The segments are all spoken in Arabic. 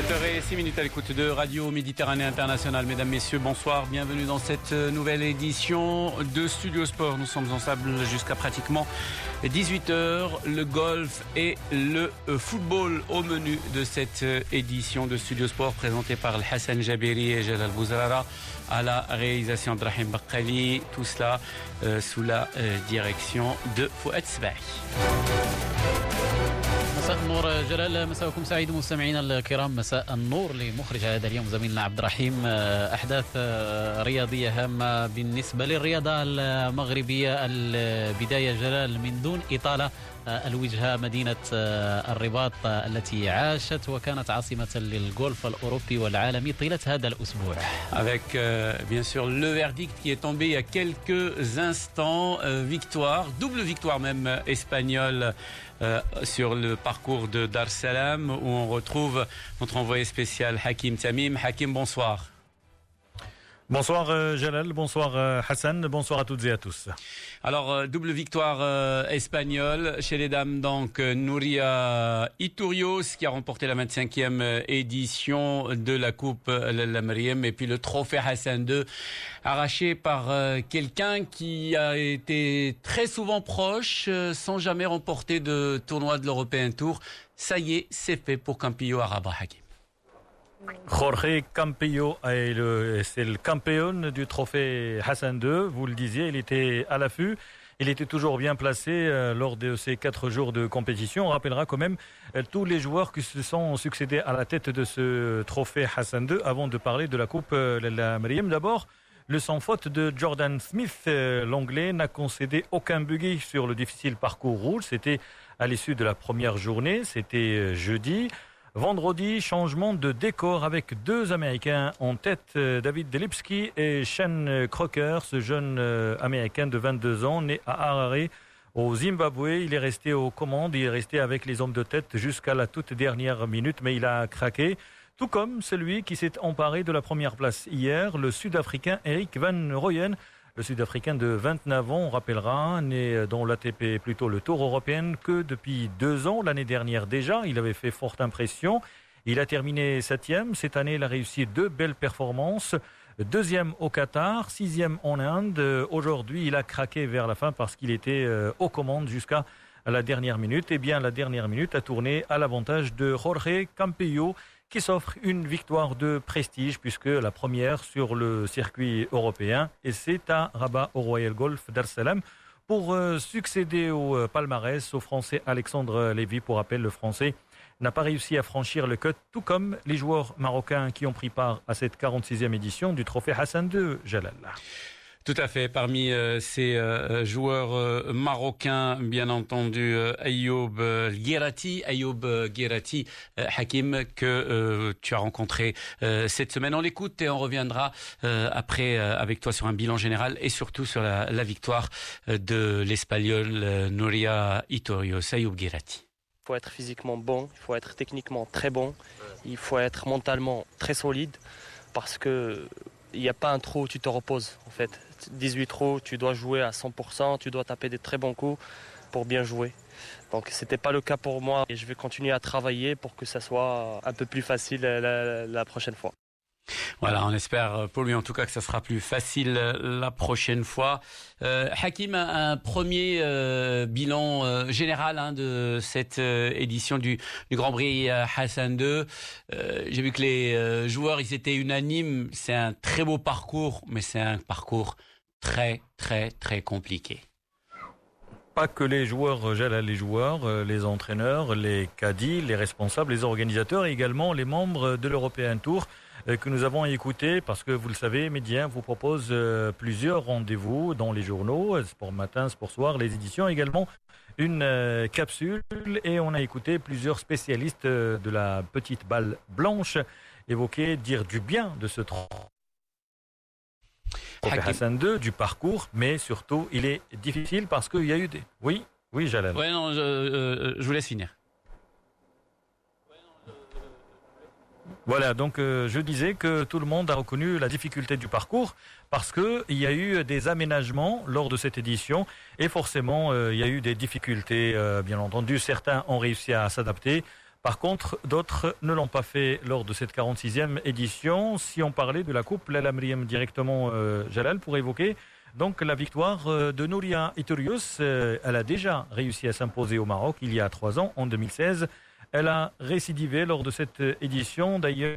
18h06 à l'écoute de Radio Méditerranée Internationale. Mesdames, Messieurs, bonsoir. Bienvenue dans cette nouvelle édition de Studio Sport. Nous sommes ensemble jusqu'à pratiquement 18h. Le golf et le football au menu de cette édition de Studio Sport présentée par Hassan Jabiri et Jalal Bouzrara à la réalisation de Rahim Bakkali. Tout cela sous la direction de Fouad Sbahi. مساء النور جلال، مساءكم سعيد مستمعينا الكرام. مساء النور لمخرج هذا اليوم زميلنا عبد الرحيم. أحداث رياضية هامة بالنسبة للرياضة المغربية. البداية جلال من دون إطالة، الوجهة مدينة الرباط التي عاشت وكانت عاصمة للغولف الأوروبي والعالمي طيلة هذا الأسبوع. Avec bien sûr le verdict qui est tombé il y a quelques instants. Victoire, double victoire même espagnole sur le parcours de Dar es Salaam où on retrouve notre envoyé spécial Hakim Tamim. Hakim, bonsoir. Bonsoir Jalal, bonsoir Hassan, bonsoir à toutes et à tous. Alors, double victoire espagnole chez les dames, donc Nouria Iturrios qui a remporté la 25e édition de la Coupe La Mariam, et puis le trophée Hassan II arraché par quelqu'un qui a été très souvent proche sans jamais remporter de tournoi de l'European Tour. Ça y est, c'est fait pour Campillo Araba. Hakim. Jorge Campillo, c'est le campion du trophée Hassan II. Vous le disiez, il était à l'affût. Il était toujours bien placé lors de ces 4 jours de compétition. On rappellera quand même tous les joueurs qui se sont succédés à la tête de ce trophée Hassan II avant de parler de la Coupe La Mariam. D'abord, le sans faute de Jordan Smith. L'Anglais n'a concédé aucun bogey sur le difficile parcours rouge. C'était à l'issue de la première journée. C'était jeudi. Vendredi, changement de décor avec 2 Américains en tête, David Delipsky et Shane Crocker, ce jeune Américain de 22 ans, né à Harare, au Zimbabwe. Il est resté aux commandes, il est resté avec les hommes de tête jusqu'à la toute dernière minute, mais il a craqué. Tout comme celui qui s'est emparé de la première place hier, le Sud-Africain Erik van Rooyen. Le Sud-Africain de 29 ans, on rappellera, né dans l'ATP, plutôt le Tour européen, que depuis 2 ans, l'année dernière déjà, il avait fait forte impression. Il a terminé 7e. Cette année, il a réussi 2 belles performances. 2e au Qatar, 6e en Inde. Aujourd'hui, il a craqué vers la fin parce qu'il était aux commandes jusqu'à la dernière minute. Eh bien, la dernière minute a tourné à l'avantage de Jorge Campillo, qui s'offre une victoire de prestige puisque la première sur le circuit européen, et c'est à Rabat au Royal Golf Dar es Salaam pour succéder au palmarès au Français Alexandre Lévy. Pour rappel, le Français n'a pas réussi à franchir le cut, tout comme les joueurs marocains qui ont pris part à cette 46e édition du trophée Hassan II, Jalal. Tout à fait. Parmi ces joueurs marocains, bien entendu, Ayoub Guerrati, Hakim, que tu as rencontré cette semaine. On l'écoute et on reviendra après avec toi sur un bilan général et surtout sur la victoire de l'Espagnol Nouria Iturrios. Ayoub Guerrati. Il faut être physiquement bon, il faut être techniquement très bon, il faut être mentalement très solide parce que il n'y a pas un trou où tu te reposes en fait. 18 trous, tu dois jouer à 100%, tu dois taper des très bons coups pour bien jouer. Donc c'était pas le cas pour moi et je vais continuer à travailler pour que ça soit un peu plus facile la prochaine fois. Voilà, on espère pour lui en tout cas que ça sera plus facile la prochaine fois. Hakim, un premier bilan général de cette édition du Grand Prix Hassan II. J'ai vu que les joueurs, ils étaient unanimes. C'est un très beau parcours, mais c'est un parcours très, très, très compliqué. Pas que les joueurs, les joueurs, les entraîneurs, les caddies, les responsables, les organisateurs et également les membres de l'European Tour que nous avons écouté parce que vous le savez, Média vous propose plusieurs rendez-vous dans les journaux, Sport Matin, Sport Soir, les éditions, également une capsule, et on a écouté plusieurs spécialistes de la petite balle blanche évoquer, dire du bien de ce trophée Hassan II, du parcours, mais surtout il est difficile parce qu'il y a eu des... Oui, Jalal. Ouais, non, je vous laisse finir. Voilà, donc je disais que tout le monde a reconnu la difficulté du parcours parce qu'il y a eu des aménagements lors de cette édition et forcément il y a eu des difficultés, bien entendu. Certains ont réussi à s'adapter. Par contre, d'autres ne l'ont pas fait lors de cette 46e édition. Si on parlait de la Coupe Lalla Meriem directement, Jalal, pour évoquer donc la victoire de Nouria Itorius. Elle a déjà réussi à s'imposer au Maroc il y a 3 ans, en 2016. Elle a récidivé lors de cette édition. D'ailleurs,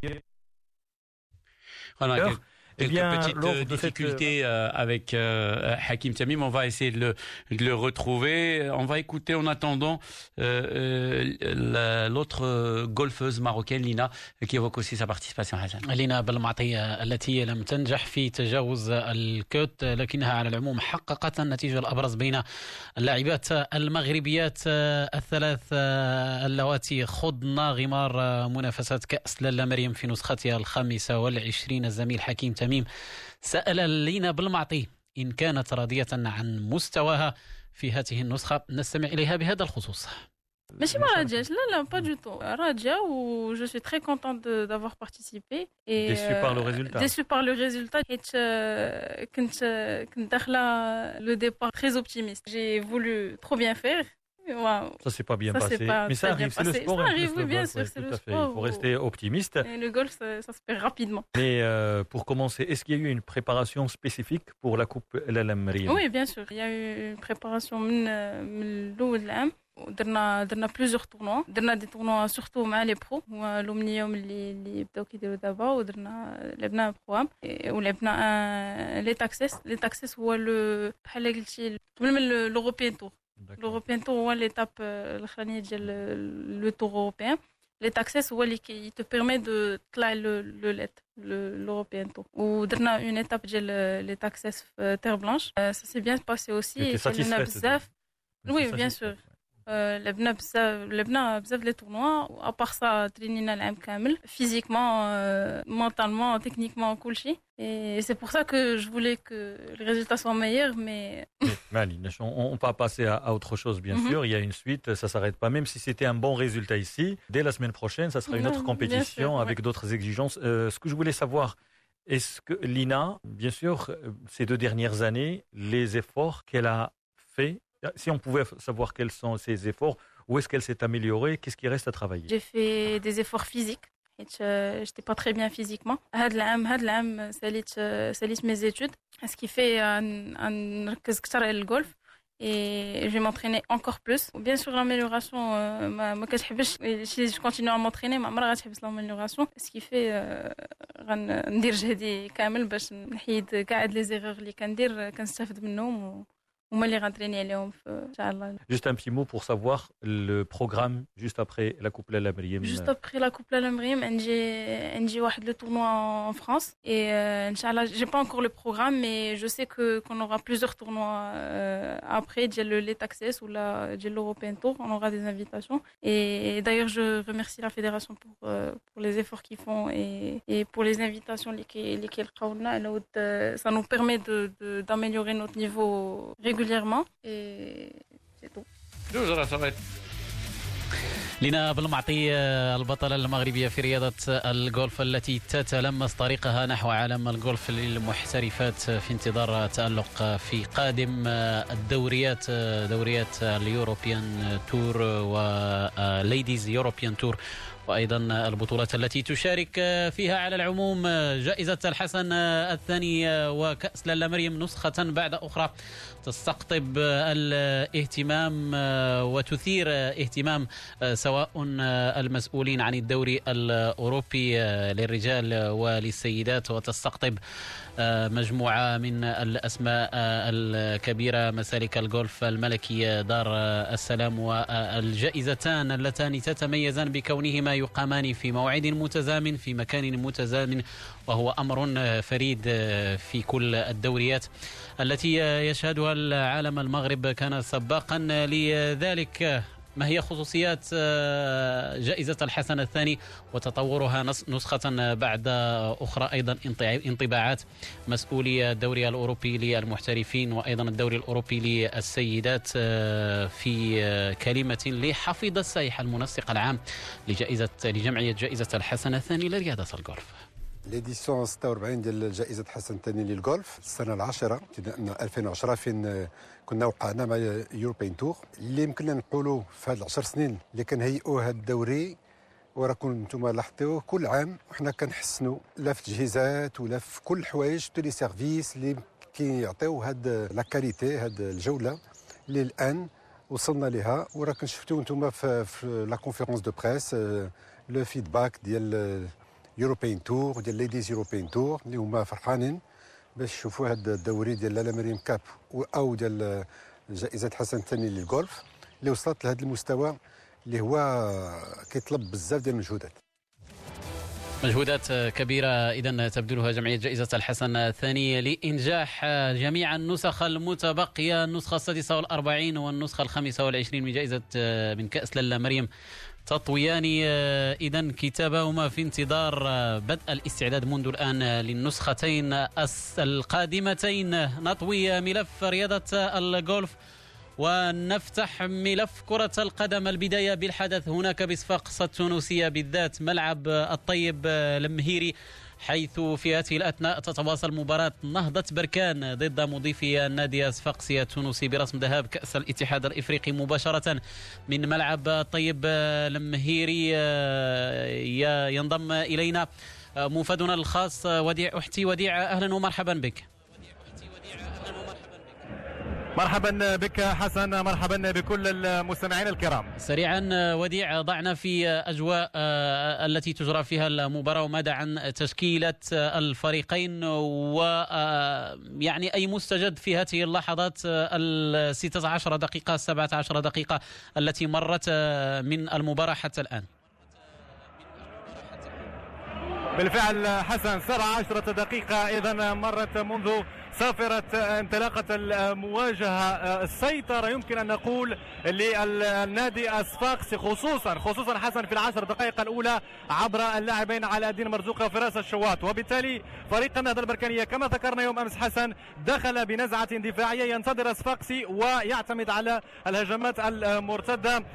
voilà, quelques petites difficultés avec Hakim Tamim. On va essayer de le retrouver. On va écouter en attendant l'autre golfeuse marocaine, Lina, qui évoque aussi sa participation. لينا بالمعطي التي لم تنجح في تجاوز الكوت، لكنها على العموم حققت النتيجة الأبرز بين اللاعبات المغربيات الثلاث اللواتي خضن غمار منافسات كأس لالا مريم في نسختها 25. الزميل حكيم تميم سأل لينا بالمعطي إن كانت راضية عن مستواها في هذه النسخة. نستمع إليها بهذا الخصوص. ماشي ما راجعش، لا pas du tout. راجعة و je suis très contente d'avoir participé. Et déçue par le résultat. Déçue par le résultat. حيت كنت داخلة le départ très optimiste. J'ai voulu trop bien faire. Wow. Ça s'est pas bien passé, mais ça arrive, c'est le sport. Ça arrive, oui, bien sûr, c'est le sport. Il faut rester optimiste. Et le golf, ça se perd rapidement. Mais pour commencer, est-ce qu'il y a eu une préparation spécifique pour la Coupe Lalla Meriem? Oui, bien sûr. Il y a eu une préparation من الأول العام. درنا plusieurs tournois. درنا des tournois surtout مع les pros. هو اليوم اللي بداو كيديروا دابا، لعبنا بروغرام ولعبنا لي تاكسيس هو بحال قلتي من l'European Tour. L'European Tour هو l'étape الأخرانية ديال لو تور أوروبيان. لي تاكسيس هو اللي te permet de تطلع لو ليت l'European Tour. ودرنا une étape ديال لي تاكسيس في تير بلانش. Ça s'est bien passé aussi. تعلمنا بزاف. Oui, bien sûr. لعبنا بزاف لي تورنوا. ابار سا ترينينا العام كامل فيزيكمون مونتالمون تكنيكمون كلشي. Et c'est pour ça que je voulais que les résultats soient meilleurs, mais... On va passer à autre chose, bien sûr. Il y a une suite, ça ne s'arrête pas. Même si c'était un bon résultat ici, dès la semaine prochaine, ça sera une autre compétition avec d'autres exigences. Ce que je voulais savoir, est-ce que Lina, bien sûr, ces 2 dernières années, les efforts qu'elle a fait, si on pouvait savoir quels sont ces efforts, où est-ce qu'elle s'est améliorée, qu'est-ce qui reste à travailler? J'ai fait des efforts physiques. Je n'étais pas très bien physiquement. هاد العام ساليت mes études. Ce qui fait نركز كثر على الجولف. Et je vais m'entraîner encore plus. Bien sûr, l'amélioration, ما كتحبش. Si je continue à m'entraîner, ما عمرها غتحبس l'amélioration. Ce qui fait غندير جهدي كامل باش نحيد كاع لي زيغور اللي كندير كنستافد منهم. Juste un petit mot pour savoir le programme juste après la Coupe Lalla Meriem. Juste après la Coupe Lalla Meriem, j'ai le tournoi en France. Et Inch'Allah, j'ai pas encore le programme, mais je sais qu'on aura plusieurs tournois après, les Taxes ou l'European Tour. On aura des invitations. Et d'ailleurs, je remercie la fédération pour les efforts qu'ils font et pour les invitations lesquelles ça nous permet d'améliorer notre niveau régulièrement et c'est tout. لينا بالمعطي البطلة المغربية في رياضة الجولف التي تتلمس طريقها نحو عالم الجولف للمحترفات في انتظار تألق في قادم الدوريات، دوريات اليوروبيان تور وليديز يوروبيان تور، وأيضا البطولات التي تشارك فيها على العموم جائزة الحسن الثاني وكأس لالا مريم نسخة بعد أخرى تستقطب الاهتمام وتثير اهتمام سواء المسؤولين عن الدوري الأوروبي للرجال وللسيدات، وتستقطب مجموعة من الأسماء الكبيرة، مسالك الجولف الملكي دار السلام، والجائزتان اللتان تتميزان بكونهما يقامان في موعد متزامن في مكان متزامن، وهو أمر فريد في كل الدوريات التي يشهدها العالم. المغرب كان سباقا لذلك. ما هي خصوصيات جائزة الحسن الثاني وتطورها نسخة بعد أخرى؟ أيضا انطباعات مسؤولي الدوري الأوروبي للمحترفين وأيضا الدوري الأوروبي للسيدات في كلمة لحفيظ السايح المنسق العام لجمعية جائزة الحسن الثاني لرياضة الجولف. ليديسيون 46 ديال جائزة حسن الثاني للجولف السنة العاشرة ابتداء من 2010 فين كنا وقعنا مع يوروبيان تور. اللي يمكننا نقولوا في هاد 10 سنين اللي كنهيئوا هاد الدوري وراكم انتم لاحظتوا كل عام وحنا كنحسنوا لا في التجهيزات ولا في كل الحوايج لي سيرفيس اللي كيعطيو هاد لا كاليتي هاد الجوله اللي الان وصلنا لها. وراكم شفتوا انتم في لا كونفيرونس دو بريس لو فيدباك ديال يوروبيان تور ديال ليديز يوروبيان تور اللي هما فرحانين باش يشوفوا هذا الدوري ديال لالا مريم كاب او ديال جائزه حسن الثاني للغولف اللي وصلت لهذا المستوى اللي هو كيطلب بزاف ديال المجهودات. مجهودات كبيرة إذا تبذلها جمعية جائزة الحسن الثاني لإنجاح جميع النسخ المتبقية، النسخة 46 والنسخة 25 من جائزة من كأس لالا مريم تطويان إذا كتابهما في انتظار بدء الاستعداد منذ الآن للنسختين القادمتين. نطوي ملف رياضة الغولف ونفتح ملف كرة القدم. البداية بالحدث هناك بصفاقس التونسية بالذات ملعب الطيب المهيري، حيث في هذه الأثناء تتواصل مباراة نهضة بركان ضد مضيفي النادي صفاقسي التونسي برسم ذهاب كأس الاتحاد الإفريقي مباشرة من ملعب الطيب المهيري. ينضم إلينا موفدنا الخاص وديع أحتي. وديع أهلا ومرحبا بك. مرحبا بك حسن، مرحبا بكل المستمعين الكرام. سريعا وديع، ضعنا في أجواء التي تجرى فيها المباراة وماذا عن تشكيلة الفريقين ويعني أي مستجد في هذه اللحظات 16 دقيقة 17 دقيقة التي مرت من المباراة حتى الآن؟ بالفعل حسن 17 دقيقة إذا مرت منذ صافرة انطلاقة المواجهة. السيطرة يمكن أن نقول للنادي الصفاقسي خصوصا حسن في العشر دقائق الأولى عبر اللاعبين علاء الدين مرزوق وفراس الشواط، وبالتالي فريق النهضة البركانية كما ذكرنا يوم أمس حسن دخل بنزعة دفاعية ينتظر الصفاقسي ويعتمد على الهجمات المرتدة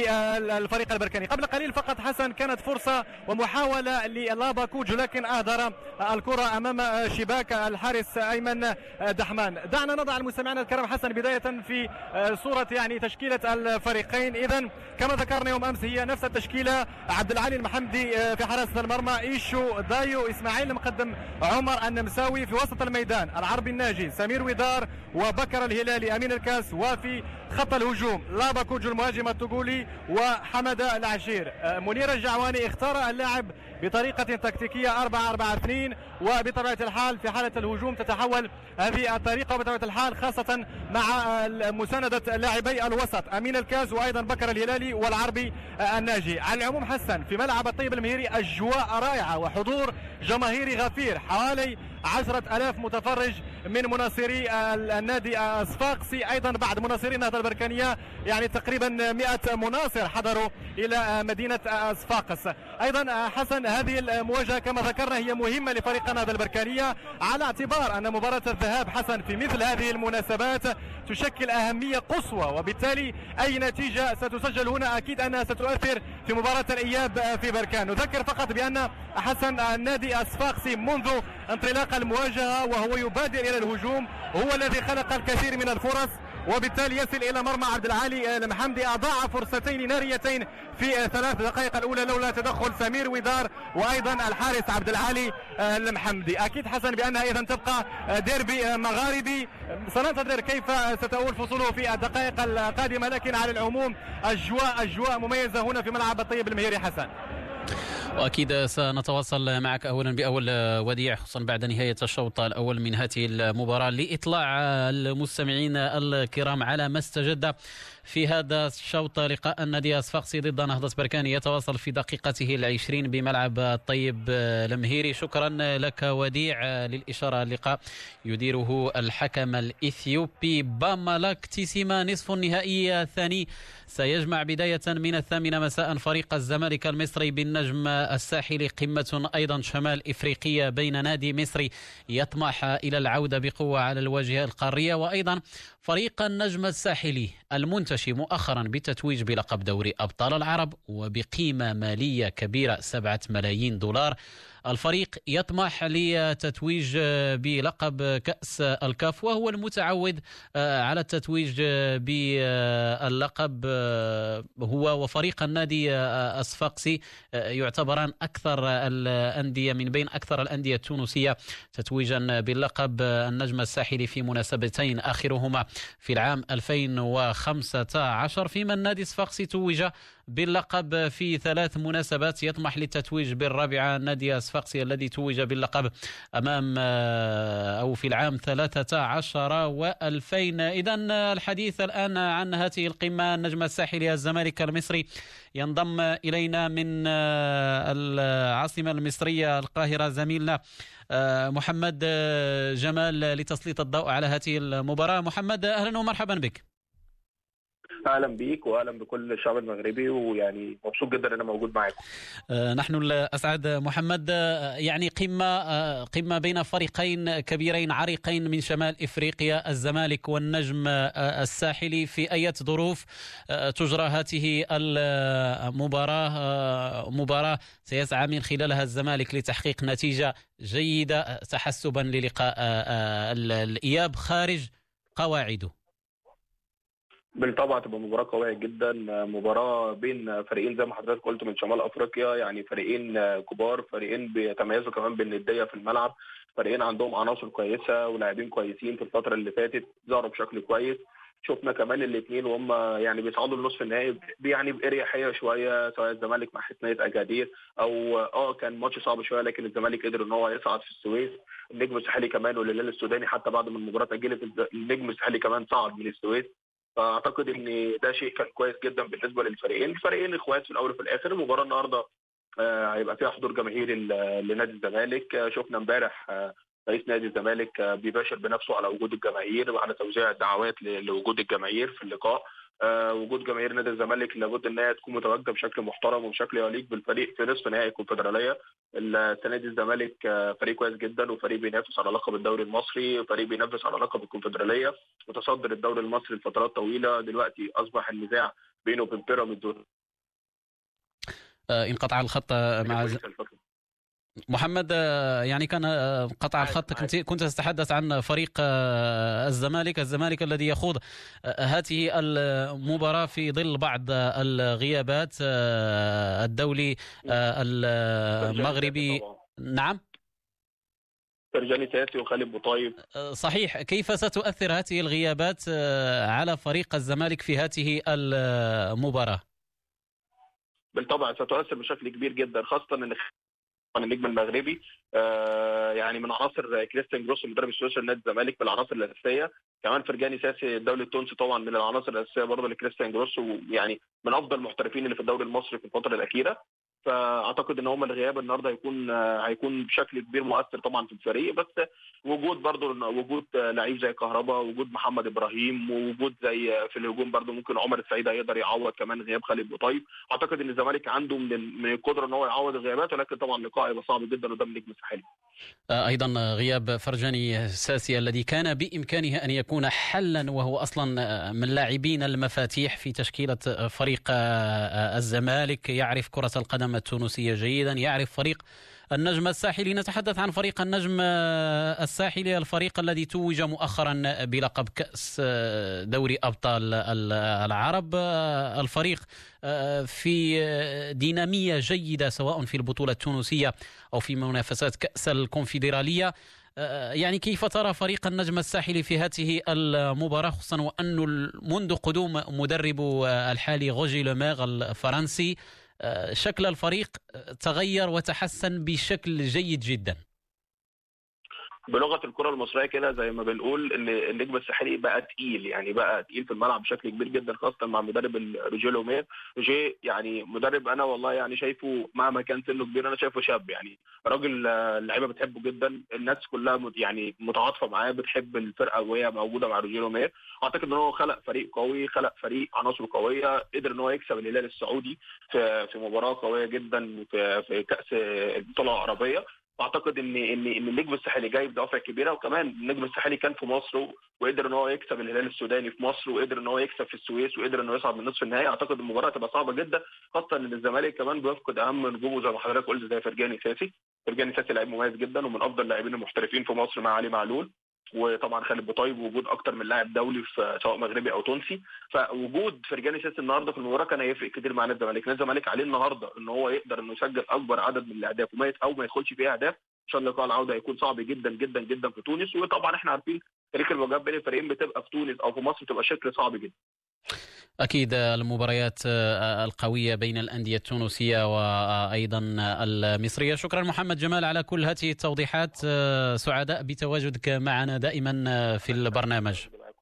للفريق البركاني. قبل قليل فقط حسن كانت فرصة ومحاولة للاباكوج لكن أهدر الكرة أمام شباك الحارس أيمن دحمان. دعنا نضع المستمعين الكرام حسن بداية في صورة يعني تشكيلة الفريقين. إذن كما ذكرنا يوم أمس هي نفس التشكيلة: عبد العالي المحمدي في حراسة المرمى، إيشو دايو، إسماعيل المقدم، عمر النمساوي في وسط الميدان، العربي الناجي، سمير ودار وبكر الهلالي، أمين الكاس، وفي خط الهجوم لاباكوج المهاجم التقولي وحمد العشير. منير الجعواني اختار اللاعب بطريقة تكتيكية 4-4-2 وبطبيعة الحال في حالة الهجوم تتحول هذه الطريقة بطبيعة الحال خاصة مع مساندة لاعبي الوسط أمين الكاز وأيضا بكر الهلالي والعربي الناجي. على العموم حسن في ملعب الطيب المهيري أجواء رائعة وحضور جماهيري غفير، حوالي 10,000 متفرج من مناصري النادي الصفاقسي، أيضا بعد مناصري النهضة البركانية يعني تقريبا 100 مناصر حضروا إلى مدينة صفاقس. أيضا حسن هذه المواجهة كما ذكرنا هي مهمة لفريق النهضة البركانية على اعتبار أن مباراة الذهاب حسن في مثل هذه المناسبات تشكل أهمية قصوى، وبالتالي أي نتيجة ستسجل هنا أكيد أنها ستؤثر في مباراة الإياب في بركان. نذكر فقط بأن حسن النادي الصفاقسي منذ انطلاق المواجهة وهو يبادر إلى الهجوم هو الذي خلق الكثير من الفرص، وبالتالي يصل إلى مرمى عبد العالي المحمدي. أضاع فرصتين ناريتين في 3 دقائق الأولى لولا تدخل سمير ودار وأيضا الحارس عبد العالي المحمدي. أكيد حسن بأنها إذا تبقى ديربي مغاربي، سننتظر كيف ستؤول فصوله في الدقائق القادمة، لكن على العموم أجواء مميزة هنا في ملعب الطيب المهيري حسن. وأكيد سنتواصل معك أولا بأول وديع خصوصا بعد نهاية الشوط الأول من هذه المباراة لإطلاع المستمعين الكرام على ما استجد في هذا الشوط. لقاء النادي الصفاقسي ضد نهضة بركان يتواصل في دقيقته 20 بملعب الطيب المهيري. شكرا لك وديع. للإشارة اللقاء يديره الحكم الإثيوبي بامالاك تيسيما. نصف النهائي الثاني سيجمع بداية من 8 مساء فريق الزمالك المصري بالنجم الساحلي، قمة أيضا شمال إفريقية بين نادي مصري يطمح إلى العودة بقوة على الواجهة القارية، وأيضا فريق النجم الساحلي المنتشي مؤخرا بالتتويج بلقب دوري أبطال العرب وبقيمة مالية كبيرة 7 ملايين دولار. الفريق يطمح لتتويج بلقب كأس الكاف، وهو المتعود على التتويج باللقب. هو وفريق النادي الصفاقسي يعتبران أكثر الأندية من بين أكثر الأندية التونسية تتويجا باللقب النجم الساحلي في مناسبتين، آخرهما في العام 2015، فيما النادي الصفاقسي توج باللقب في 3 مناسبات. يطمح للتتويج بالرابعة النادي الصفاقسي الذي توج باللقب أمام أو في العام 13 و2000. إذن الحديث الآن عن هذه القمة، النجم الساحلي الزمالك المصري ينضم إلينا من العاصمة المصرية القاهرة زميلنا محمد جمال لتسليط الضوء على هذه المباراة. محمد، أهلا ومرحبا بك. اهلا بيك واهلا بكل الشعب المغربي، ويعني مبسوط جدا ان انا موجود معاكم. نحن الاسعد محمد. يعني قمه بين فريقين كبيرين عريقين من شمال افريقيا، الزمالك والنجم الساحلي. في اي ظروف تجرى هذه المباراه؟ مباراه سيسعى من خلالها الزمالك لتحقيق نتيجه جيده تحسبا للقاء الاياب خارج قواعده. بالطبع تبقى مباراة قوية جدا، مباراة بين فريقين زي ما حضرتك قلت من شمال افريقيا، يعني فريقين كبار، فريقين بيتميزوا كمان بالندية في الملعب، فريقين عندهم عناصر كويسة ولاعبين كويسين في الفترة اللي فاتت ظهروا بشكل كويس. شفنا كمان الاثنين وهم يعني بيصعدوا لنصف النهائي يعني باريحيه شويه، سواء الزمالك مع حسنيه اجادير او كان ماتش صعب شويه، لكن الزمالك قدر ان هو يصعد في السويس. النجم الساحلي كمان والهلال السوداني حتى بعد ما المباراه اتاجلت النجم الساحلي كمان صعد من السويس. فاعتقد ان ده شيء كان كويس جدا بالنسبه للفريقين، الفريقين اخوات في الاول وفي الاخر. المباراه النهارده هيبقى فيها حضور جماهيري لنادي الزمالك. شفنا امبارح رئيس نادي الزمالك بيباشر بنفسه على وجود الجماهير وعلى توزيع الدعوات لوجود الجماهير في اللقاء. وجود جماهير نادي الزمالك لابد انها تكون متواجده بشكل محترم وبشكل يليق بالفريق في نصف نهائي الكونفدراليه. السنه دي الزمالك فريق كويس جدا، وفريق بينافس على لقب الدوري المصري، وفريق بينافس على لقب الكونفدراليه، متصدر الدوري المصري لفترات طويله. دلوقتي اصبح النزاع بينه وبين بيراميدز. انقطع الخط مع محمد. يعني كان قطع الخط. كنت تتحدث عن فريق الزمالك الذي يخوض هذه المباراة في ظل بعض الغيابات، الدولي المغربي. نعم، فرجاني ساسي وخالد بوطيب. صحيح. كيف ستؤثر هذه الغيابات على فريق الزمالك في هذه المباراة؟ بالطبع ستؤثر بشكل كبير جدا، خاصة ان النجم المغربي يعني من عناصر كريستيان جروس المدرب السويسري لنادي الزمالك بالعناصر الاساسيه. كمان فرجاني ساسي الدولي التونسي طبعا من العناصر الاساسيه برضه لكريستيان جروس، ويعني من افضل المحترفين اللي في الدوري المصري في الفتره الاخيره. فاعتقد ان هم الغياب النهارده هيكون بشكل كبير مؤثر طبعا في الفريق. بس وجود لعيب زي كهربا، وجود محمد ابراهيم، ووجود زي في الهجوم برضه ممكن عمر السعيد هيقدر يعوض كمان غياب خالد بوطيب. اعتقد ان الزمالك عنده من القدره ان هو يعوض الغيابات، ولكن طبعا اللقاء هيبقى صعب جدا قدام النجم الساحلي. ايضا غياب فرجاني ساسي الذي كان بامكانه ان يكون حلا، وهو اصلا من لاعبين المفاتيح في تشكيله فريق الزمالك، يعرف كره القدم التونسيه جيدا، يعرف فريق النجم الساحلي. نتحدث عن فريق النجم الساحلي، الفريق الذي توج مؤخرا بلقب كأس دوري أبطال العرب. الفريق في دينامية جيدة سواء في البطولة التونسية أو في منافسات كأس الكونفدرالية. يعني كيف ترى فريق النجم الساحلي في هذه المباراة، خصوصا وأنه منذ قدوم مدرب الحالي روجي لومير الفرنسي شكل الفريق تغير وتحسن بشكل جيد جدا؟ بلغه الكره المصريه كده زي ما بنقول ان النجم الساحلي بقى تقيل، يعني بقى تقيل في الملعب بشكل كبير جدا، خاصه مع مدرب روجي لومير. روجي يعني مدرب انا والله يعني شايفه مهما كان سنه كبير انا شايفه شاب، يعني راجل اللعيبه بتحبه جدا، الناس كلها يعني متعاطفه معاه، بتحب الفرقه وهي موجوده مع روجي لومير. اعتقد ان هو خلق فريق قوي، خلق فريق عناصره قويه، قدر ان هو يكسب الهلال السعودي في مباراه قويه جدا في كاس البطوله العربيه. واعتقد ان النجم الساحلي جاي بدوافع كبيره، وكمان النجم الساحلي كان في مصر وقدر ان هو يكسب الهلال السوداني في مصر، وقدر ان هو يكسب في السويس، وقدر انه يصعد من نصف النهائي. اعتقد المباراه هتبقى صعبه جدا، خاصه ان الزمالك كمان بيفقد اهم نجومه زي ما حضرتك قلت، زي فرجاني ساسي. فرجاني ساسي لعيب مميز جدا ومن افضل اللاعبين المحترفين في مصر مع علي معلول، وطبعا خالد بوطيب، وجود اكتر من لاعب دولي سواء مغربي او تونسي. فوجود فرجاني ساسي النهارده في المباراه كان هيفرق كتير مع نادي الزمالك. نادي الزمالك عليه النهارده ان هو يقدر انه يسجل اكبر عدد من الاهداف او ما يدخلش فيها اهداف عشان لقاء العوده هيكون صعب جدا جدا جدا في تونس. وطبعا احنا عارفين تاريخ المواجهات بين الفريقين بتبقى في تونس او في مصر بتبقى شكل صعب جدا. أكيد المباريات القوية بين الأندية التونسية وأيضا المصرية. شكرا محمد جمال على كل هذه التوضيحات، سعداء بتواجدك معنا دائما في البرنامج.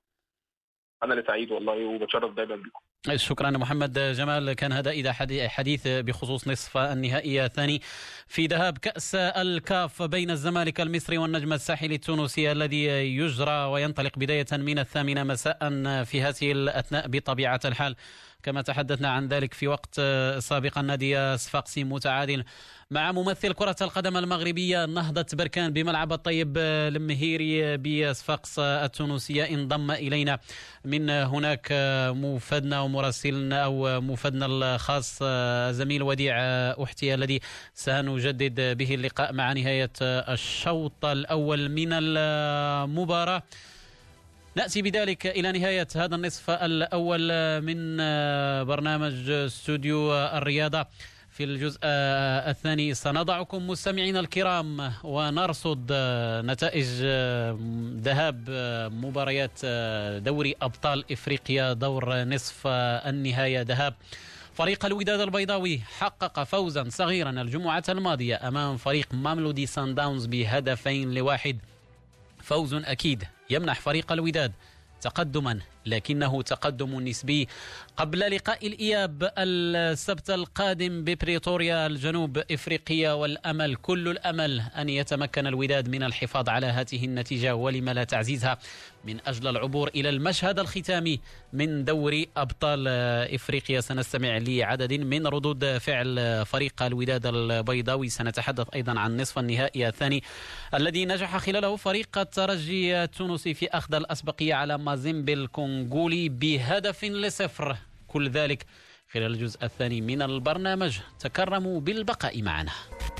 أنا اللي سعيد والله وبتشرف دائما بكم. شكرا محمد جمال. كان هذا إذا حديث بخصوص نصف النهائي الثاني في ذهاب كأس الكاف بين الزمالك المصري والنجم الساحلي التونسي الذي يجرى وينطلق بداية من 8 مساء في هذه الأثناء بطبيعة الحال. كما تحدثنا عن ذلك في وقت سابق، النادي صفاقسي متعادل مع ممثل كرة القدم المغربية نهضة بركان بملعب الطيب المهيري بصفاقس التونسية. انضم إلينا من هناك مفادنا ومراسلنا أو مفادنا الخاص زميل وديع أحتي الذي سنجدد به اللقاء مع نهاية الشوط الأول من المباراة. نأتي بذلك إلى نهاية هذا النصف الأول من برنامج استوديو الرياضة. في الجزء الثاني سنضعكم مستمعين الكرام ونرصد نتائج ذهاب مباريات دوري أبطال إفريقيا دور نصف النهاية. ذهاب فريق الوداد البيضاوي حقق فوزا صغيرا الجمعة الماضية أمام فريق ماملودي سان داونز ب2-1. فوز أكيد يمنح فريق الوداد تقدما، لكنه تقدم نسبي قبل لقاء الإياب السبت القادم ببريتوريا الجنوب إفريقيا، والأمل كل الأمل أن يتمكن الوداد من الحفاظ على هذه النتيجة ولما لا تعزيزها من أجل العبور إلى المشهد الختامي من دوري أبطال إفريقيا. سنستمع لعدد من ردود فعل فريق الوداد البيضاوي. سنتحدث أيضا عن نصف النهائي الثاني الذي نجح خلاله فريق الترجي التونسي في أخذ الأسبقية على مازيمبي الكونغولي ب1-0. كل ذلك خلال الجزء الثاني من البرنامج. تكرموا بالبقاء معنا.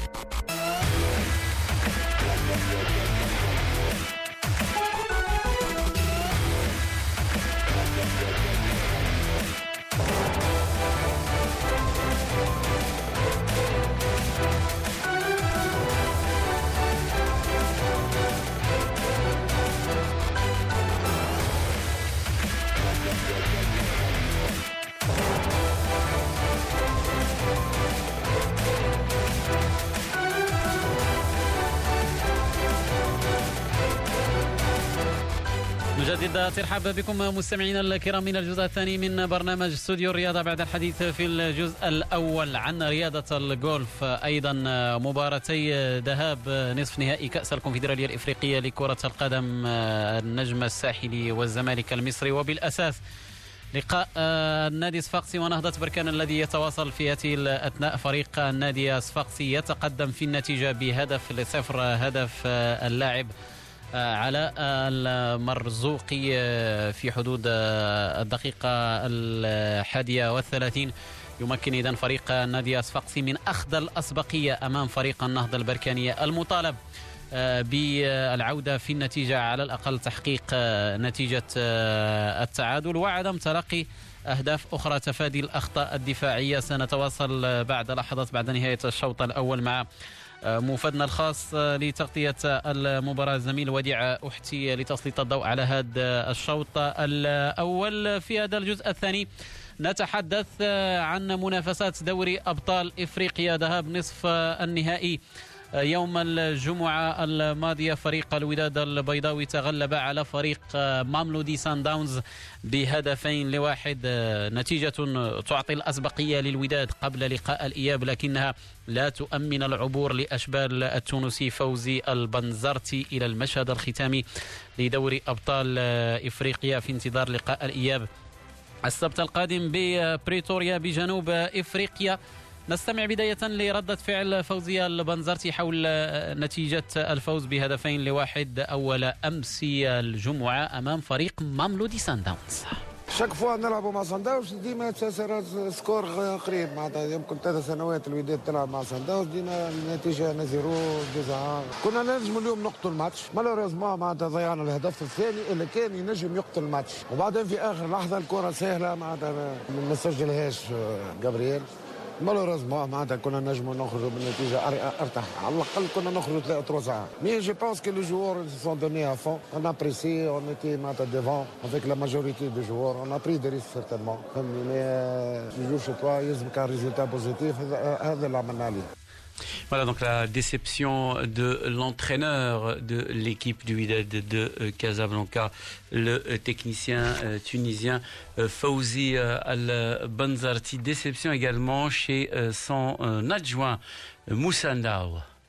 نجدد ترحب بكم مستمعينا الكرام من الجزء الثاني من برنامج استوديو الرياضة بعد الحديث في الجزء الأول عن رياضة الجولف. أيضا مباراتي ذهاب نصف نهائي كأس الكونفدرالية الإفريقية لكرة القدم النجم الساحلي والزمالك المصري، وبالأساس لقاء النادي الصفاقسي ونهضة بركان الذي يتواصل في هذه الأثناء. فريق النادي الصفاقسي يتقدم في النتيجة ب1-0. هدف اللاعب على المرزوقي في حدود الدقيقة 31 يمكن إذن فريق النادي الصفاقسي من أخذ الأسبقية أمام فريق النهضة البركانية المطالب بالعودة في النتيجة، على الأقل تحقيق نتيجة التعادل وعدم تلقي أهداف أخرى، تفادي الأخطاء الدفاعية. سنتواصل بعد لحظات بعد نهاية الشوط الأول مع مفادنا الخاص لتغطية المباراة زميل وديع أحتي لتسليط الضوء على هذا الشوط الأول. في هذا الجزء الثاني نتحدث عن منافسات دوري أبطال إفريقيا ذهاب نصف النهائي. يوم الجمعة الماضية فريق الوداد البيضاوي تغلب على فريق ماملودي سان داونز ب2-1. نتيجة تعطي الأسبقية للوداد قبل لقاء الإياب، لكنها لا تؤمن العبور لأشبال التونسي فوزي البنزرتي إلى المشهد الختامي لدوري أبطال إفريقيا في انتظار لقاء الإياب السبت القادم ببريتوريا بجنوب إفريقيا. نستمع بداية لردة فعل فوزية البنزرتي حول نتيجة الفوز ب2-1 أول أمس الجمعة أمام فريق ماملودي سان داونز. شاك فوا نلعبوا مع سان داونز ديما تسارع سكور قريب معناتها يمكن 3 سنوات الوداد تلعب مع سان داونز ديما النتيجه 0-2. كنا نجموا اليوم نقتل الماتش مالوريزمون معناتها ضيعنا الهدف الثاني اللي كان ينجم يقتل الماتش وبعدين في اخر لحظه الكره سهله معناتها ما سجلهاش جابرييل مالوريزمون معناتها كنا نجموا نخرجوا بالنتيجه ارتاح على الاقل كنا نخرجوا 3 ساعات مي جو بونس كو لو جوور سون دوني ا فون اون ابريسي اون ايتي معناتها ديفون افيك لا ماجوريتي دو جوور اون ا بري دي ريسك سيرتينمون فهمني مي جو شو توا يلزمك ان ريزولتا بوزيتيف هذا اللي عملنا عليه. Voilà donc la déception de l'entraîneur de l'équipe du Wydad de Casablanca, le technicien tunisien Fawzi Al-Banzarti. Déception également chez son adjoint Moussa Ndao.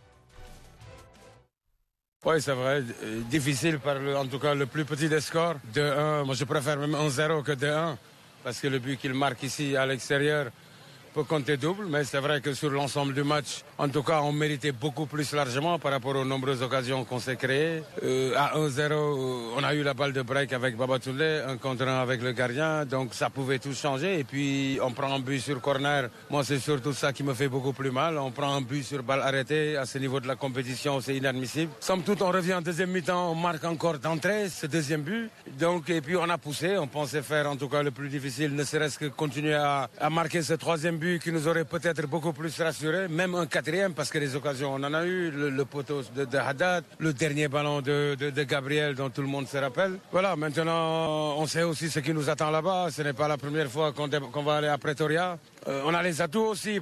Oui, c'est vrai. Difficile par en tout cas le plus petit des scores. 2-1, moi je préfère même 1-0 que 2-1 parce que le but qu'il marque ici à l'extérieur peut compter double, mais c'est vrai que sur l'ensemble du match, en tout cas, on méritait beaucoup plus largement par rapport aux nombreuses occasions qu'on s'est créées. À 1-0, on a eu la balle de break avec Babatoulé, un contre un avec le gardien, donc ça pouvait tout changer. Et puis, on prend un but sur corner. Moi, c'est surtout ça qui me fait beaucoup plus mal. On prend un but sur balle arrêtée. À ce niveau de la compétition, c'est inadmissible. Somme toute, on revient en deuxième mi-temps, on marque encore d'entrée ce deuxième but. Donc, et puis, on a poussé. On pensait faire, en tout cas, le plus difficile, ne serait-ce que continuer à marquer ce troisième but qui nous aurait peut-être beaucoup plus rassuré, même un quatrième, parce que les occasions, on en a eu, le poteau de Haddad, le dernier ballon de Gabriel dont tout le monde se rappelle. Voilà, maintenant, on sait aussi ce qui nous attend là-bas. Ce n'est pas la première fois qu'on va aller à Pretoria. On a les atouts aussi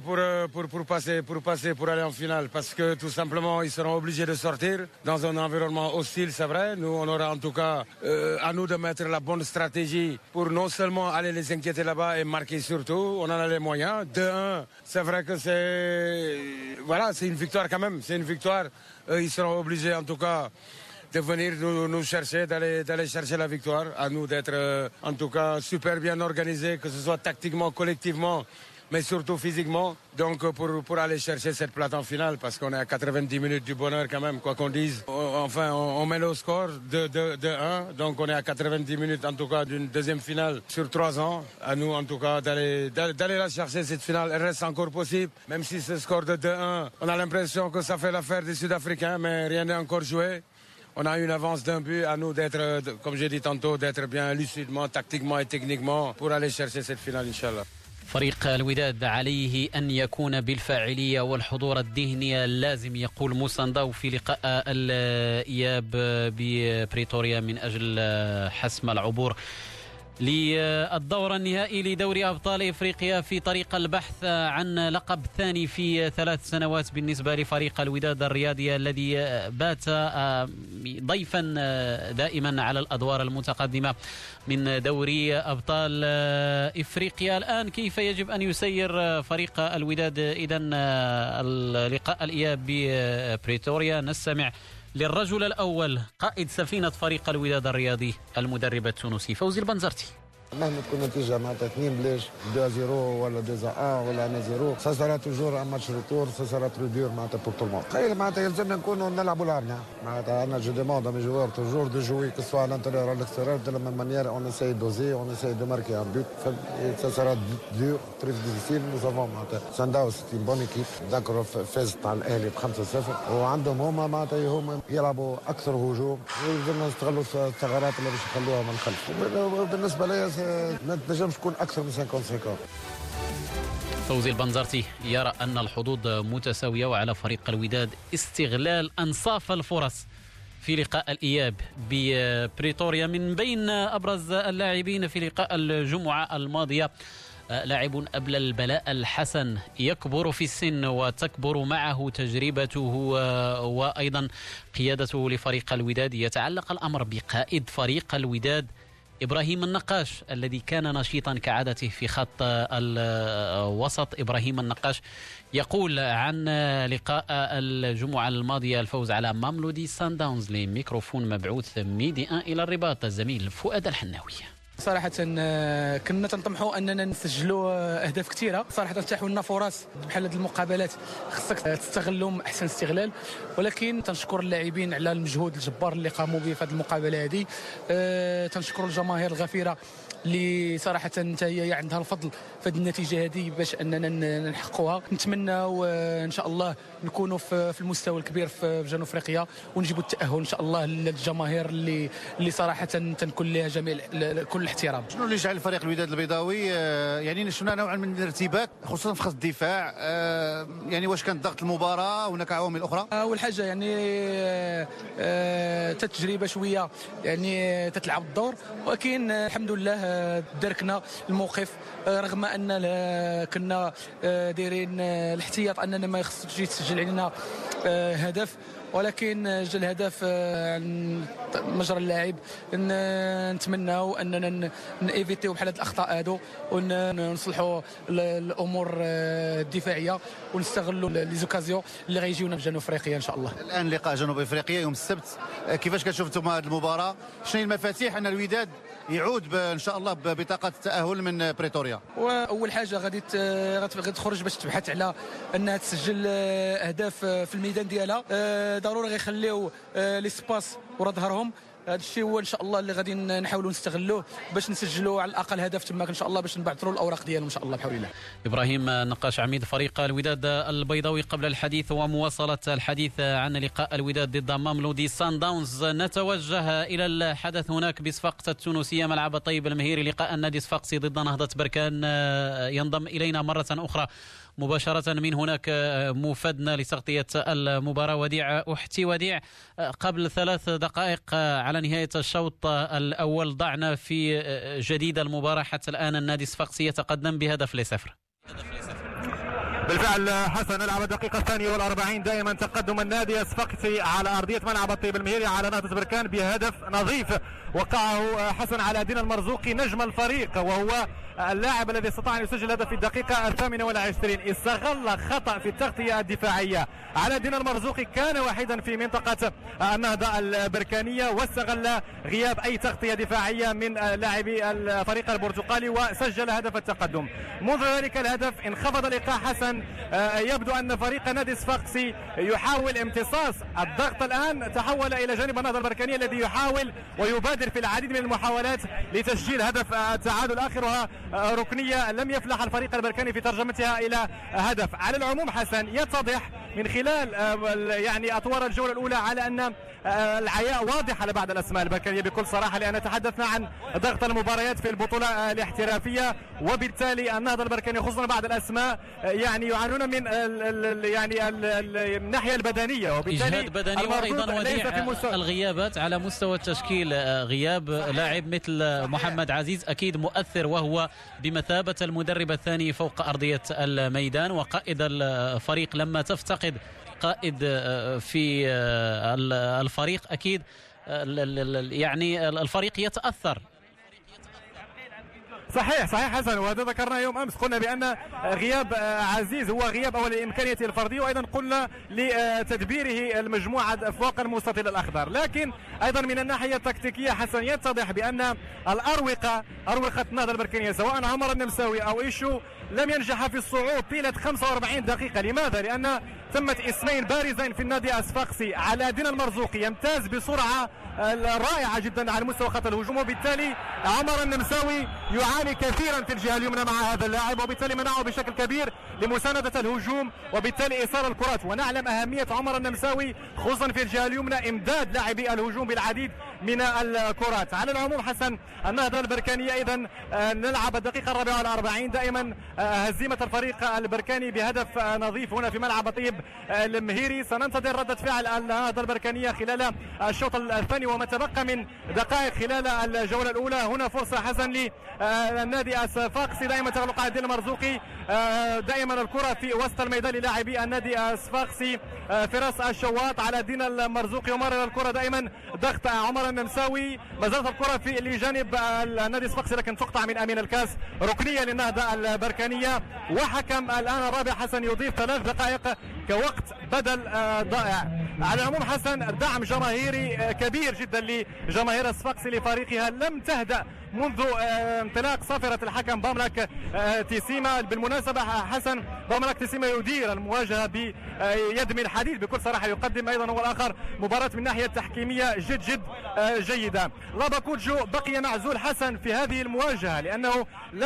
pour aller en finale, parce que tout simplement, ils seront obligés de sortir dans un environnement hostile, c'est vrai. Nous, on aura en tout cas à nous de mettre la bonne stratégie pour non seulement aller les inquiéter là-bas et marquer surtout. On en a les moyens. 2-1, c'est vrai que c'est une victoire quand même. C'est une victoire. Ils seront obligés en tout cas de venir nous chercher, d'aller chercher la victoire. À nous d'être en tout cas super bien organisés, que ce soit tactiquement, collectivement, mais surtout physiquement, donc pour aller chercher cette plate en finale, parce qu'on est à 90 minutes du bonheur quand même, quoi qu'on dise. Enfin, on met le score de 1, donc on est à 90 minutes en tout cas d'une deuxième finale sur 3 ans. À nous en tout cas d'aller la chercher, cette finale, elle reste encore possible, même si ce score de 2-1, on a l'impression que ça fait l'affaire des Sud-Africains, mais rien n'est encore joué. On a une avance d'un but, à nous d'être, comme j'ai dit tantôt, d'être bien lucidement, tactiquement et techniquement pour aller chercher cette finale, Inch'Allah. فريق الوداد عليه أن يكون بالفاعلية والحضور الذهني اللازم، يقول موسى نداو في لقاء الإياب ببريتوريا من أجل حسم العبور للدور النهائي لدوري أبطال إفريقيا في طريق البحث عن لقب ثاني في 3 سنوات بالنسبة لفريق الوداد الرياضي الذي بات ضيفا دائما على الأدوار المتقدمة من دوري أبطال إفريقيا. الآن كيف يجب أن يسير فريق الوداد إذن لقاء الإياب ببريتوريا؟ نستمع للرجل الأول قائد سفينة فريق الوداد الرياضي المدرب التونسي فوزي البنزرتي. مهما تكون النتيجه معناتها 2-0 ولا 2-1 ولا 1-0 سا سارا توجور ان ماتش روتور سا سارا ترو دور معناتها بور تو الموند. تخيل معناتها يلزمنا نكونوا نلعبوا لارنا معناتها انا جو ديموند ا مي جوار توجور دو جوي كو سوا لانتيريور ولا الاكستيريور دو لا ميم مانيير اون اساي دوزي اون اساي دو ماركي ان بوت سا سارا دور تري ديفيسيل. نو سافون معناتها سان داونز سي بون ايكيب داكور فازت على الاهلي ب 5-0 وعندهم هما يلعبوا اكثر هجوم ويلزمنا نستغلوا الثغرات اللي باش يخلوها من الخلف. بالنسبه لي ما تنجمش تكون اكثر من 50-50. فوزي البنزرتي يرى أن الحظوظ متساوية وعلى فريق الوداد استغلال أنصاف الفرص في لقاء الإياب ببريتوريا. من بين أبرز اللاعبين في لقاء الجمعة الماضية لاعب أبل البلاء الحسن يكبر في السن وتكبر معه تجربته وأيضا قيادته لفريق الوداد. يتعلق الأمر بقائد فريق الوداد إبراهيم النقاش الذي كان نشيطا كعادته في خط الوسط. إبراهيم النقاش يقول عن لقاء الجمعة الماضية الفوز على ماملودي سان داونز لميكروفون مبعوث ميدي 1 إلى الرباط الزميل فؤاد الحناوي. صراحة كنا تنطمحوا أننا نسجلوا أهداف كثيرة. صراحة تتاحوا لنا فرص بحال هذه المقابلات خصك تستغلهم أحسن استغلال، ولكن تنشكر اللاعبين على المجهود الجبار اللي قاموا به في هذه المقابلة هذه. تنشكر الجماهير الغفيرة اللي صراحة حتى هي عندها الفضل في هذه النتيجة هذه باش أننا نحققوها. نتمنى وإن شاء الله نكونوا في المستوى الكبير في جنوب أفريقيا ونجيبوا التأهل إن شاء الله للجماهير اللي صراحة تنكون لها جميع كل الاحترام. شنو اللي جعل فريق الوداد البيضاوي يعني شفنا نوعا من الارتباك خصوصا في خط الدفاع؟ يعني واش كان ضغط المباراة هناك عوامل أخرى؟ أول حاجة يعني تجربة شوية يعني تتلعب الدور، ولكن الحمد لله دركنا الموقف رغم ان كنا دايرين الاحتياط اننا ما خصش يتسجل علينا هدف، ولكن جا الهدف مجرى اللاعب. نتمناو اننا نيفيتيو بحال هاد الاخطاء هادو ونصلحوا الامور الدفاعيه ونستغلوا لي زوكازيون اللي غيجيونا في جنوب افريقيا ان شاء الله. الان لقاء جنوب افريقيا يوم السبت، كيفاش كتشوف انتم هذه المباراه؟ شنو هي المفاتيح ان الوداد يعود ان شاء الله ببطاقه التاهل من بريتوريا؟ واول حاجه غادي تخرج باش تبحث على انها تسجل اهداف في الميدان ديالها. ضروري غيخليو لي سباس ورا ظهرهم. هذا الشيء هو ان شاء الله اللي غادي نحاولوا نستغلوه باش نسجلوا على الاقل هدف تماك ان شاء الله باش نبعثروا الاوراق ديالهم ان شاء الله بحول الله. ابراهيم نقاش عميد فريق الوداد البيضاوي قبل الحديث ومواصله الحديث عن لقاء الوداد ضد ماملودي سان داونز. نتوجه الى الحدث هناك بصفاقس التونسيه ملعب طيب المهيري. لقاء النادي الصفاقسي ضد نهضه بركان ينضم الينا مره اخرى مباشرة من هناك مفادنا لتغطية المباراة وديع أحتي. وديع، قبل 3 دقائق على نهاية الشوط الأول ضعنا في جديد المباراة. حتى الآن النادي الصفاقسي يتقدم ب0-0. بالفعل حسن، نلعب الدقيقة 42 دائما تقدم النادي الصفاقسي على أرضية ملعب الطيب المهيري على نهضة بركان بهدف نظيف وقعه حسن على دين المرزوقي نجم الفريق، وهو اللاعب الذي استطاع أن يسجل هدف في الدقيقة 28. استغل خطأ في التغطية الدفاعية على دين المرزوقي، كان وحيدا في منطقة النهضة البركانية واستغل غياب أي تغطية دفاعية من لاعبي الفريق البرتقالي وسجل هدف التقدم. منذ ذلك الهدف انخفض اللقاء حسن. يبدو أن فريق نادي الصفاقسي يحاول امتصاص الضغط. الآن تحول إلى جانب النهضة البركانية الذي يحاول ويبادر في العديد من المحاولات لتسجيل هدف التعادل، آخرها ركنية لم يفلح الفريق البركاني في ترجمتها إلى هدف. على العموم حسن، يتضح من خلال يعني أطوار الجولة الأولى على أن العياء واضح على بعض الأسماء البركانية بكل صراحة، لأن تحدثنا عن ضغط المباريات في البطولة الاحترافية، وبالتالي النهضة البركاني خصوصا بعض الأسماء يعني يعانون من يعني الناحية البدنية، وبالتالي إجهاد بدني وأيضا وديع الغيابات على مستوى التشكيل. غياب لاعب مثل محمد عزيز أكيد مؤثر، وهو بمثابة المدرب الثاني فوق أرضية الميدان وقائد الفريق. لما تفتقد قائد في الفريق أكيد يعني الفريق يتأثر. صحيح حسن، وهذا ذكرنا يوم امس، قلنا بان غياب عزيز هو غياب اول لامكانيته الفرديه، وايضا قلنا لتدبيره المجموعه فوق المستطيل الاخضر. لكن ايضا من الناحيه التكتيكيه حسن يتضح بان اروقه النهضه البركانيه سواء عمر النمساوي او ايشو لم ينجح في الصعود طيله 45 دقيقه. لماذا؟ لان ثمة اسمين بارزين في النادي الصفاقسي. على دين المرزوقي يمتاز بسرعه رائعه جدا على مستوى خط الهجوم، وبالتالي عمر النمساوي يعاني كثيرا في الجهه اليمنى مع هذا اللاعب، وبالتالي منعه بشكل كبير لمسانده الهجوم وبالتالي ايصال الكرات. ونعلم اهميه عمر النمساوي خصوصا في الجهه اليمنى، امداد لاعبي الهجوم بالعديد من الكرات. على العموم حسن، النهضه البركانيه اذا نلعب الدقيقه 44 دائما هزيمه الفريق البركاني بهدف نظيف هنا في ملعب طيب المهيري. سننتظر ردة فعل النهضة البركانية خلال الشوط الثاني وما تبقى من دقائق خلال الجولة الأولى. هنا فرصة حسن للنادي الصفاقسي، دائما تغلق على الدين المرزوقي، دائما الكرة في وسط الميدان للاعبي النادي الصفاقسي. فراس الشواط على الدين المرزوقي، ومرر الكرة دائما ضغط عمر النمساوي. ما زالت الكرة في لجانب النادي الصفاقسي لكن تقطع من أمين الكاس، ركنية للنهضة البركانية. وحكم الآن الرابع حسن يضيف 3 دقائق كوقت بدل ضائع. على العموم حسن، دعم جماهيري كبير جدا لجماهير الصفاقسي لفريقها لم تهدأ منذ انطلاق صافرة الحكم باملك تيسيما. بالمناسبة حسن، باملك تيسيما يدير المواجهة بيد من الحديد بكل صراحة، يقدم أيضا هو الآخر مباراة من ناحية تحكيمية جد جيدة. لاباكوجو بقي معزول حسن في هذه المواجهة لأنه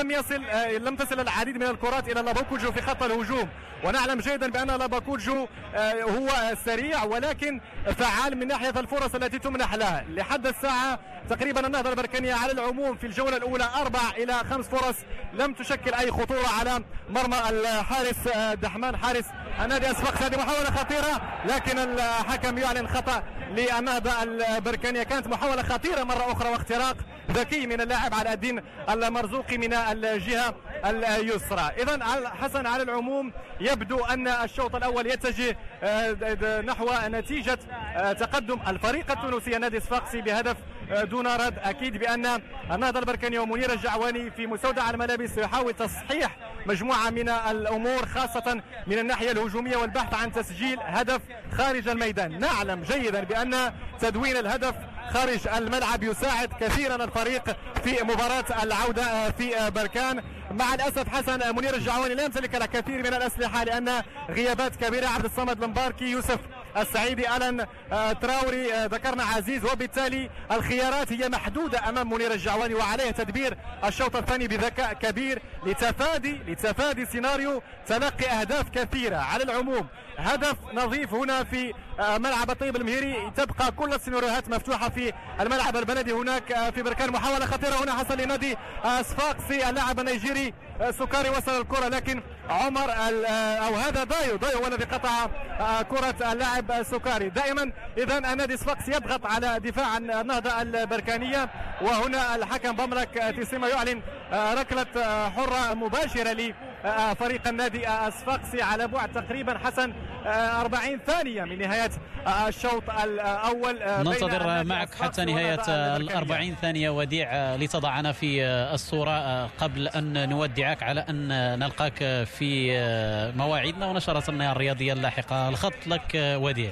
لم تصل العديد من الكرات إلى لاباكوجو في خط الهجوم، ونعلم جيدا بأن لاباكوجو هو سريع ولكن فعال من ناحية الفرص التي تمنح له. لحد الساعة تقريبا النهضة البركانية على العموم في الجولة الأولى 4 إلى 5 فرص لم تشكل أي خطورة على مرمى الحارس دحمان حارس النادي الصفاقسي. هذه محاولة خطيرة لكن الحكم يعلن خطأ للنهضة البركانية. كانت محاولة خطيرة مرة أخرى واختراق ذكي من اللاعب علاء الدين المرزوقي من الجهة اليسرى. إذن حسن على العموم يبدو أن الشوط الأول يتجه نحو نتيجة تقدم الفريق التونسي النادي الصفاقسي بهدف دون رد. أكيد بأن النهضة البركانية ومنير الجعواني في مستودع الملابس يحاول تصحيح مجموعة من الأمور خاصة من الناحية الهجومية والبحث عن تسجيل هدف خارج الميدان. نعلم جيدا بأن تدوين الهدف خارج الملعب يساعد كثيرا الفريق في مباراة العودة في بركان. مع الأسف حسن منير الجعواني لا يمتلك الكثير من الأسلحة لأن غيابات كبيرة، عبد الصمد المباركي، يوسف السعيدي، ألان تراوري، ذكرنا عزيز، وبالتالي الخيارات هي محدودة أمام منير الجعواني وعليه تدبير الشوط الثاني بذكاء كبير لتفادي سيناريو تلقي أهداف كثيرة. على العموم هدف نظيف هنا في ملعب الطيب المهيري، تبقى كل السيناريوهات مفتوحة في الملعب البلدي هناك في بركان. محاولة خطيرة هنا حصل لنادي صفاقسي، اللاعب النيجيري سكاري وصل الكرة لكن عمر أو هذا دايو هو الذي قطع كرة اللاعب سكاري. دائما إذا النادي صفاقسي يضغط على دفاع النهضة البركانية، وهنا الحكم باملك تيسيما يعلن ركلة حرة مباشرة لفريق النادي الصفاقسي على بعد تقريبا حسن 40 ثانية من نهاية الشوط الأول. ننتظر معك حتى نهاية 40 ثانية وديع لتضعنا في الصورة قبل أن نودعك على أن نلقاك في مواعيدنا ونشرتنا الرياضية اللاحقة. الخط لك وديع.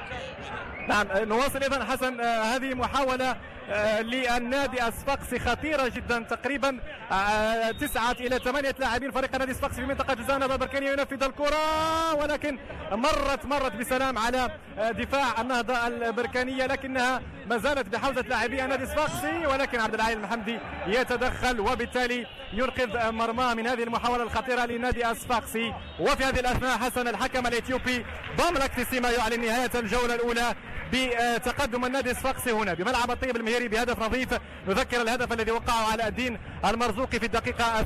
نعم نواصل إذن حسن. هذه محاولة للنادي الصفاقسي خطيرة جدا، تقريبا 9 إلى 8 لاعبين فريق النادي الصفاقسي في منطقة جزاء النهضة البركانية ينفذ الكرة ولكن مرت بسلام على دفاع النهضة البركانية، لكنها ما زالت بحوزة لاعبي النادي الصفاقسي، ولكن عبد العالي المحمدي يتدخل وبالتالي ينقذ مرماه من هذه المحاولة الخطيرة للنادي الصفاقسي. وفي هذه الأثناء حسن الحكم الإثيوبي باملك تيسيما يعلن نهاية الجولة الأولى بتقدم النادي الصفاقسي هنا بملعب الطيب المهيري بهدف نظيف. نذكر الهدف الذي وقعه علاء الدين المرزوقي في الدقيقة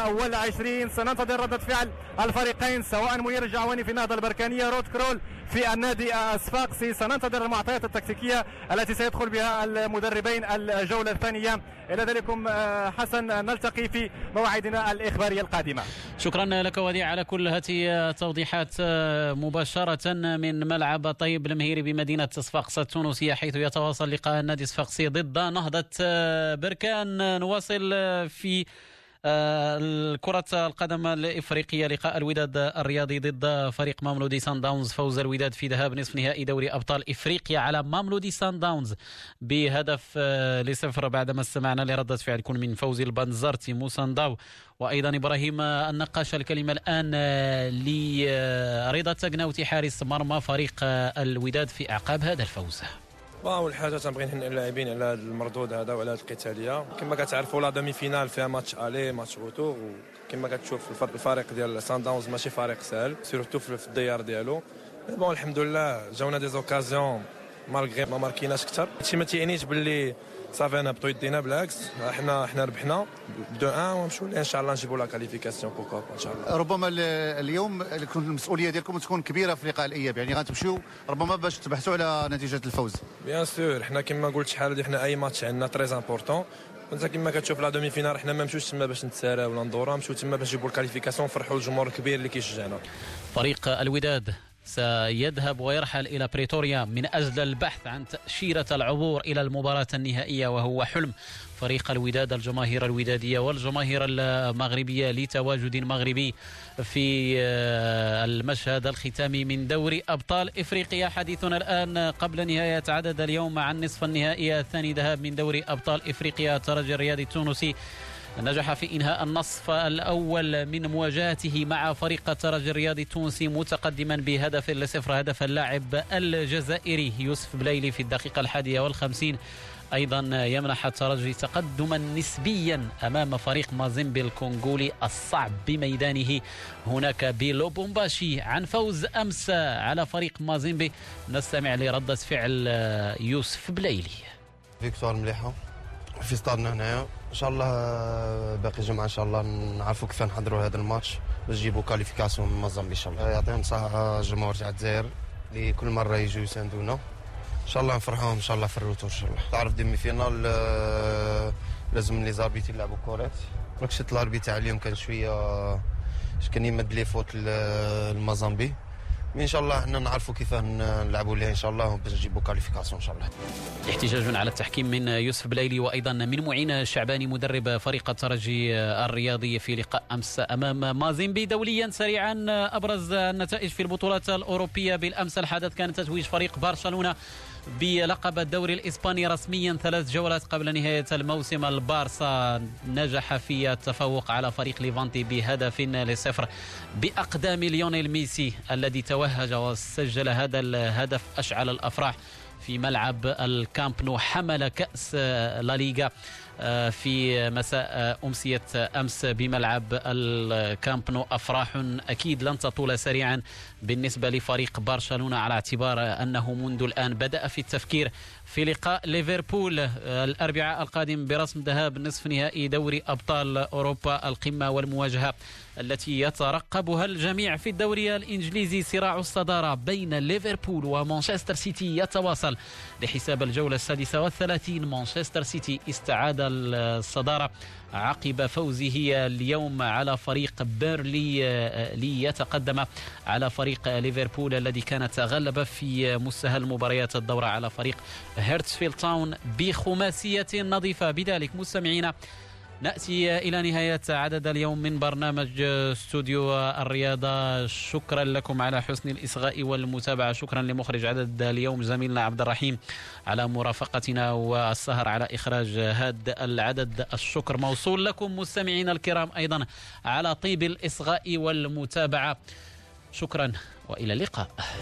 28. سننتظر ردة فعل الفريقين سواء منير الجعواني في النهضة البركانية، رود كرول في النادي الصفاقسي. سننتظر المعطيات التكتيكية التي سيدخل بها المدربين الجولة الثانية. إلى ذلك حسن نلتقي في موعدنا الإخبارية القادمة. شكرا لك وديع على كل هذه التوضيحات مباشرة من ملعب طيب المهيري بمدينة صفاقس التونسية، حيث يتواصل لقاء النادي الصفاقسي ضد نهضة بركان. نواصل في كرة القدم الإفريقية. لقاء الوداد الرياضي ضد فريق ماملودي سان داونز. فوز الوداد في ذهاب نصف نهائي دوري أبطال إفريقيا على ماملودي سان داونز بهدف ل0 بعدما استمعنا لردة فعل يكون من فوزي البنزرتي موسانداو وأيضا إبراهيم النقاش. الكلمة الآن لرضا تقناوتي حارس مرمى فريق الوداد في أعقاب هذا الفوز. اول حاجه تنبغي نهنئ اللاعبين على هذا المردود هذا وعلى هذه القتاليه. كما كتعرفوا لا دومي فينال فيها ماتش الي ماتش روتور، وكما كتشوف الفريق ديال سان داونز ماشي فريق سهل سيرتو في الديار ديالو. بون الحمد لله جاونا دي زوكازيون مالغري ما ماركيناش اكثر. هادشي ما تيعنيش باللي صافي نهبطوا يدينا، بالعكس احنا ربحنا 2-1 ونمشيو ان شاء الله نجيبوا لا كاليفيكاسيون بوكو ان شاء الله. ربما اليوم المسؤوليه ديالكم تكون كبيره في لقاء الاياب، يعني غتمشيو ربما باش تبحثوا على نتيجه الفوز. بيان سور حنا كما قلت شحال هادي حنا اي ماتش عندنا تري امبورطون، وانت كما كتشوف لا دومي فينال حنا ما مشوش تما باش نتسارى ولا ندورا، مشيو تما باش نجيبوا الكاليفيكاسيون نفرحوا الجمهور الكبير اللي كيشجعنا. فريق الوداد سيذهب ويرحل إلى بريتوريا من أجل البحث عن تأشيرة العبور إلى المباراة النهائية، وهو حلم فريق الوداد، الجماهير الودادية والجماهير المغربية لتواجد مغربي في المشهد الختامي من دوري أبطال إفريقيا. حديثنا الآن قبل نهاية عدد اليوم عن نصف النهائي الثاني ذهاب من دوري أبطال إفريقيا. الترجي الرياضي التونسي نجح في إنهاء النصف الأول من مواجهته مع فريق الترجي الرياضي التونسي متقدما بهدف لصفر، هدف اللاعب الجزائري يوسف بلايلي في الدقيقة 51. أيضا يمنح الترجي تقدما نسبيا أمام فريق مازيمبي الكونغولي الصعب بميدانه هناك بلوبومباشي. عن فوز أمس على فريق مازيمبي نستمع لردة فعل يوسف بلايلي. فيكتوار مليحة في ستادنا هنايا، ان شاء الله باقي جمعه ان شاء الله نعرفوا كيف نحضروا هذا الماتش باش نجيبوا كاليفيكاسيون من مازامبي ان شاء الله. يعطيهم الصحه الجمهور تاع الجزائر اللي كل مره يجوا يساندونا، ان شاء الله نفرحوهم ان شاء الله في الروتور ان شاء الله. تعرف ديمي فينال لازم لي زاربيت يلعبوا كوريت، راك شفت الاربي تاع اليوم كان شويه كان يمد لي فوت المازامبي، ان شاء الله احنا نعرفوا كيف نلعبوا ليه ان شاء الله باش نجيبوا كاليفيكاسيون ان شاء الله. احتجاج على التحكيم من يوسف بلايلي وايضا من معين الشعباني مدرب فريق الترجي الرياضي في لقاء امس امام مازيمبي. دوليا سريعا ابرز النتائج في البطولات الاوروبيه بالامس. الحدث كان تتويج فريق برشلونه بلقب الدوري الإسباني رسميا 3 جولات قبل نهاية الموسم. البارسا نجح في التفوق على فريق ليفانتي بهدف لصفر بأقدام ليونيل ميسي الذي توهج وسجل هذا الهدف أشعل الأفراح في ملعب الكامب نو. حمل كأس لا ليغا في مساء أمسية أمس بملعب الكامب نو. أفراح أكيد لن تطول سريعا بالنسبة لفريق برشلونة على اعتبار أنه منذ الآن بدأ في التفكير في لقاء ليفربول الأربعاء القادم برسم ذهاب نصف نهائي دوري أبطال أوروبا القمة والمواجهة التي يترقبها الجميع في الدوري الإنجليزي. صراع الصدارة بين ليفربول ومانشستر سيتي يتواصل لحساب الجولة 36. مانشستر سيتي استعاد الصدارة عقب فوزه اليوم على فريق بيرلي ليتقدم على فريق ليفربول الذي كان تغلب في مستهل مباريات الدورة على فريق هيرتسفيلد تاون بخماسية نظيفة. بذلك مستمعينا نأتي إلى نهاية عدد اليوم من برنامج استوديو الرياضة. شكرا لكم على حسن الإصغاء والمتابعة. شكرا لمخرج عدد اليوم زميلنا عبد الرحيم على مرافقتنا والسهر على إخراج هذا العدد. الشكر موصول لكم مستمعينا الكرام أيضا على طيب الإصغاء والمتابعة. شكرا وإلى اللقاء.